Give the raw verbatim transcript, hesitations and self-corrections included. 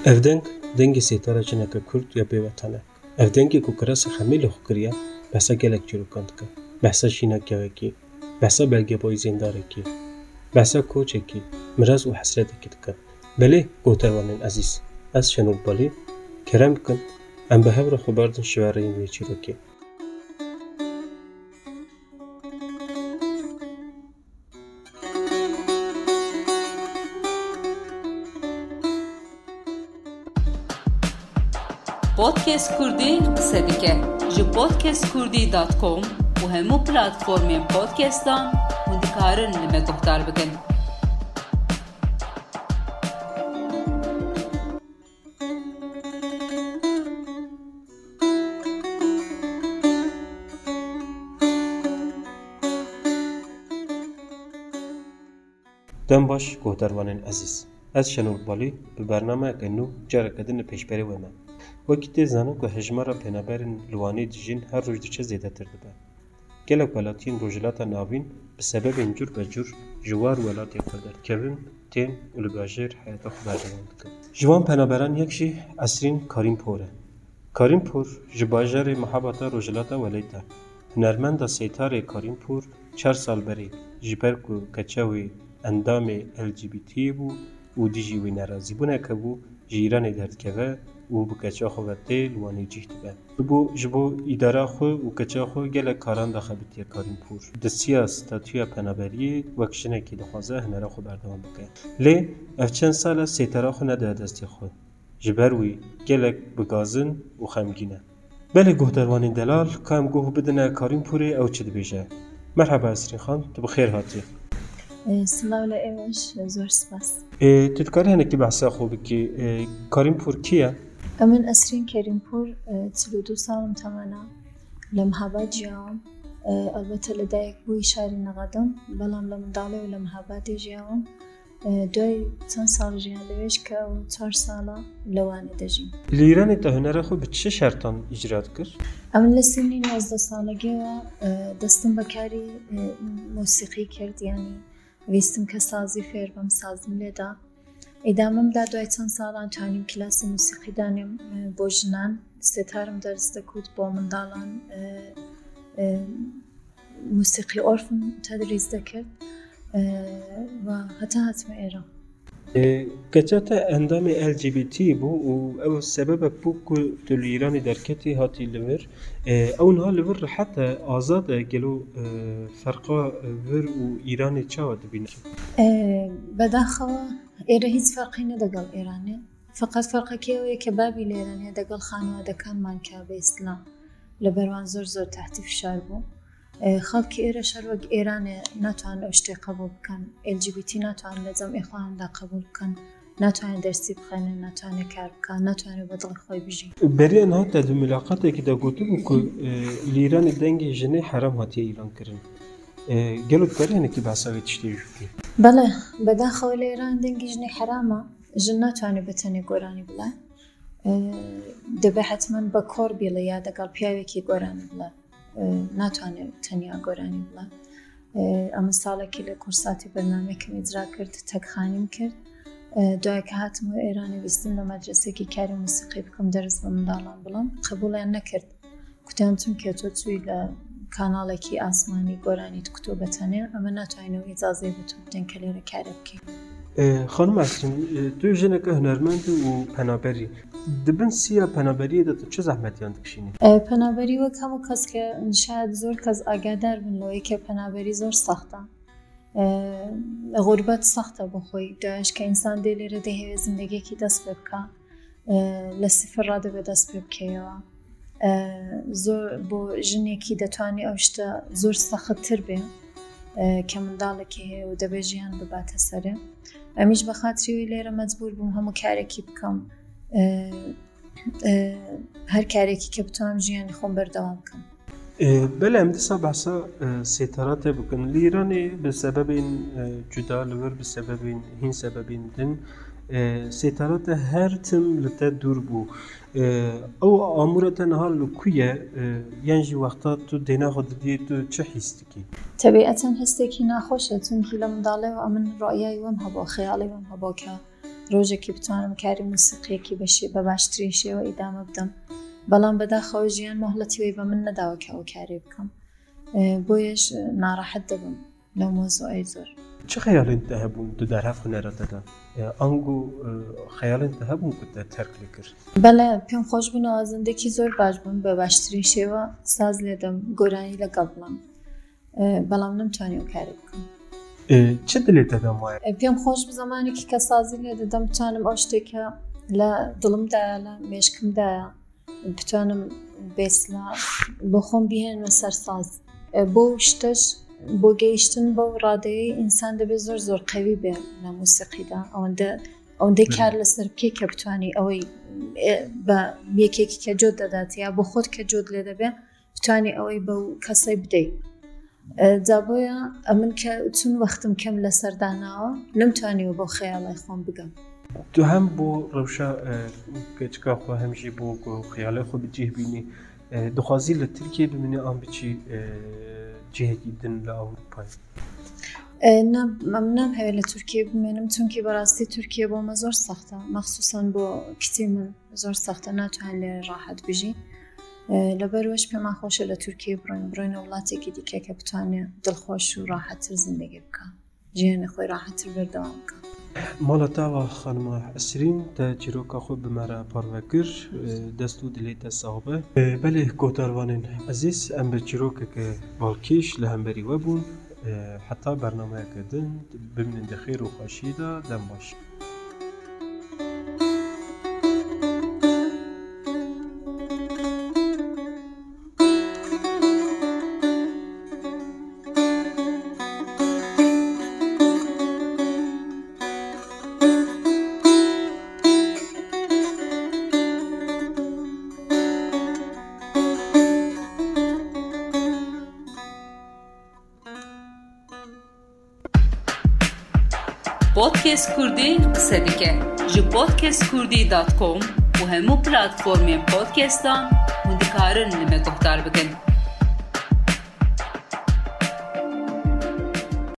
Evdenk dengi setara cineke Kurd ya bêwetane. Evdenkê ku kirasa xemê li xwe kiriye, behsa gelek çîrokan dike. Behsa şînekevekî, behsa belgebayî zêndarekî, behsa koçekî, miraz û hesretekî dike. Belê goterwanên ezîz, ez Şenol Balî, kerem bikin em bi hev re xwe berdin şivereyên vê çîrokê. Podcast Kurdî qise dike ji podcast kurdî dot com û hemû platformên podcastan hûn dikarin li me guhdar bikin. Dem baş goterwanên ezîz. Ez Şenol Balî bi bernameyeke nû careke din li pêşberê we me. Wekî tê zanin ku hejmara pênaberên li Wanê dijîn her roj diçe zêdetir dibe. Gelek welatiyên rojhilata navîn bi sebebên cur be cur ji war welatê xwe derkevin tên û li bajêr heyeta xwe berdewam dikin. Ji wan penaberan yek jî Esrîn Karîmpor e. Karîmpor ji bajarê Mihabata rojhilata Welêt e. Hunermenda sêtarê Karîmpor çar sal berê ji ber ku keça wê endamê L G B T bû û dijî wê nerazîbûneke bû ji Îranê derdikeve û bi keça xwe ve tê li Wanê cih dibe. Bû ji bo îdara xwe û keça xwe gelek karan daxebitiye Karîmpor. Di siya statûya penaberiyê wek jinekî dixwaze hunera xwe berdewam bike. Lê ev çend sal e sêtara xwe nediye destê xwe. Ji ber wî gelek bigazin û xemgîn e. Belê guhderwanên delal ka em guh bidine Karîmporê ew çi dibêje. Merheba Esrîn xan, tu bi xêr hatî. Silav li êvaş, zor spas. Tu dikarî hinekî behsa xwe bikî. Karîmpor kî ye? Em in Esrîn Karîmpor çil û du salim temene li Mihabat jiyam. Elbette li dayek bû îşarî neqedim, belam li Mindalê û li Mihabatê jiyam. Duay çend sal jiyan li wê ji ke ew çar sala li Wanê de jîm. Li Îranê te hunera xwe bi çi şertan îcra dikir? Em li sinî nozde salagî we destim bi karî musîqî kirt, yanî wîstim ke sazî fêr bim, sazim lê da. Îdamim da duay çend salan tanîm kilasê musîqî danîm bo jinan. Sêtarım ders dikut bo mindalan musîqî orfim tedrîs dikir ve heta hatime êra. Keça te endamê L G B T bû û ew sebebek bû ku tu li Îranê derketî hatî li vir. Ew niha li vir rehet e, azad e, gelo ferqa vir û Îranê çawa dibîne? Bedaxewa êra hiç ferqî ne degal Îranê. Feqet ferqekî ew ye ke bavî li Îranê degal xanewadekanman ke bi îslam li ber wan zor zor tehtî fişar bû. Xelkê êra şer wek Îranê natwanin ew ştê qebûl bikin. L G B T natwanin li zemê xwe de qebûl bikin. Natwanin dersî bixwînin, natwanin kar bikin, natwanin bi dilê xwe bijîn. Berî niha te di milaqatekî de gotibû ku li Îranê dengê jinê heram hatiye îlan kirin. Gelo dikarî hinekî behsa wê tiştê jî bikî? Bele, bedaxewa li Îranê dengê jinê heram e. Jin natwane bi tenê goranî bile. Dibe hetmen bi kor bîle ya degal piyavekî goranî bile. ناتوانێت تەنیا گۆرانی بڵێ. ئەمە ساڵێکی لە کورساتی بەرنامەیەکم ئیجرا کرد، تەکخانیم کرد. دوای کە هاتمەوە ئێرانی ویستم لە مەدرسەیەکی کاری موسیقی بکەم دەرس بە منداڵان بڵێم، قبوڵیان نەکرد. کوتیان چونکە تۆ چووی لە کاناڵێکی ئاسمانی گۆرانیت کوتۆ بەتەنێ، ئەمە ناتوانینەوە ئیجازەی بە تۆ بدەین کە لێرە کارە بکەین. خانم Esrîn, tu jineke hunermend û penaberî. Dibin siya penaberiyê de tu çi zehmetiyan dikişînî? Penaberî wek hemû keske şayet zor kes agadar bin li wê ke penaberî zor saxt e. Gurbet saxt e bo xwe. Duyaş ke însan dê lêre dê hêvî zindegiyekî dest pê bike. Li sifir radibe dest pê bikeyewa. Zor bo jinekî detwanî ew şte zor sexttir bê. Ke mindalekî heye û dibe jiyan bibate serê. Em îj bi xatirî wê lêre mecbûr bûm hemû karekî bikim. Her karekî ke bituam jiyanê xwe berdewam bikim. Belê em dîsa behsa sêtara te bikin. Li Îranê bi sebebên cuda li vir bi sebebên hîn sebebên din sêtara te her tim li te dûr bû. Ew amûra te niha li ku ye? Yan jî wexta tu dêna xwe didî tu çi hîs dikî? Tebîeten hestekî naxweş e, çunkî li Mindalê ew min ra'yayê wem hebo, xeyalê wem hebo ke ڕۆژێکی بتوانم کاری موسیقیەکی بەشی بە باشترین شێوە ئیدامە بدەم بەڵام بەداخەوە ژیان مۆهلەتی بە من نەداوە کە ئەو کارێ بکەم بۆیەش ناڕەحەت دەبم لەو مۆزوعەی زۆر. چه خەیاڵێنت هەبوون تو دەرهەف هونەرەتەدا ئەنگو خەیاڵێنت هەبوون کە تەرک کرد؟ بەڵێ پێم خۆش بوونەوە زندگی زۆر باش بوون بە باشترین شێوە ساز لێدەم گۆرانی لەگەڵ بڵام بەڵام نەمتوانی ئەو کارێ بکەم. چه دلێت دەدەم وایە؟ پێم خۆش زمانێکی کە سازی لێ دەدەم بتوانم ئەو شتێکە لە دڵمدایە لە مێشکمدایە بتوانم بێسلا بۆ خۆم بهێنمە سەر ساز بۆ شتەش بۆ گەیشتن بەو ڕادەیەی ئینسان دەبێت زۆر زۆر قەوی بێ لە موسیقیدا ئەوەندە ئەوەندەی کار لەسەر بکەی کە بتوانی ئەوەی بە یەکێکی کە جۆت دەدات یا بۆ خۆت کە جۆت لێ دەبێت بتوانی ئەوەی بەو کەسەی بدەیت. جا بۆیە ئەمن کە چون وەختم کەم لە سەرداناوە نەمتوانیوە بۆ خەیاڵای خۆم بگەم. تو هەم بۆ ڕەوشە کەچکا خۆ هەمیشی بۆ خەیاڵای خۆ بجێ بینی دخوازی لە تورکیە ببینی ئەم بچی جێهێکی دن لە ئەوروپای؟ نام هەوێت لە تورکیە بمێنم چونکی بەڕاستی تورکیە بۆمە زۆر سەختە مەخسووسان بۆ کچی من زۆر سەختە ناتوان لێ ڕاحەت بژی لەبەروەش پێمان خۆشە لە تورکیە بڕۆین بڕۆینە وڵاتێکی دیکە کە بتوانێت دڵخۆش و ڕاحەتتر زندگی بکە ژیانی خۆی ڕاحەتتر بەردەوام بکە. ماڵە تاوە خانمە ئەسرین تە چیرۆکە خۆ بمەرە پاڕڤەکر دەست و دلێتە ساوبە بەلێ کۆتاروانên ئەزیز ئەم بە چیرۆکێکە باڵکیش لە هەمبەری وەبوون حتا بەرنامەیەکردن ببینن دەخێر و خۆشیدا دەم باش. پۆدکێست کوردی قسە دیکە ji podcast kurdî dot com û hemû platformên podcastan hûn dikarin li me guhdar bikin.